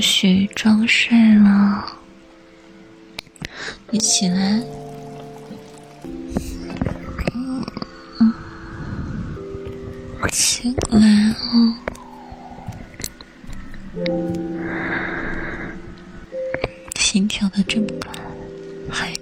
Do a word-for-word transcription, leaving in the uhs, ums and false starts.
许装睡了，你起来。嗯，起来哦。心跳的这么快，还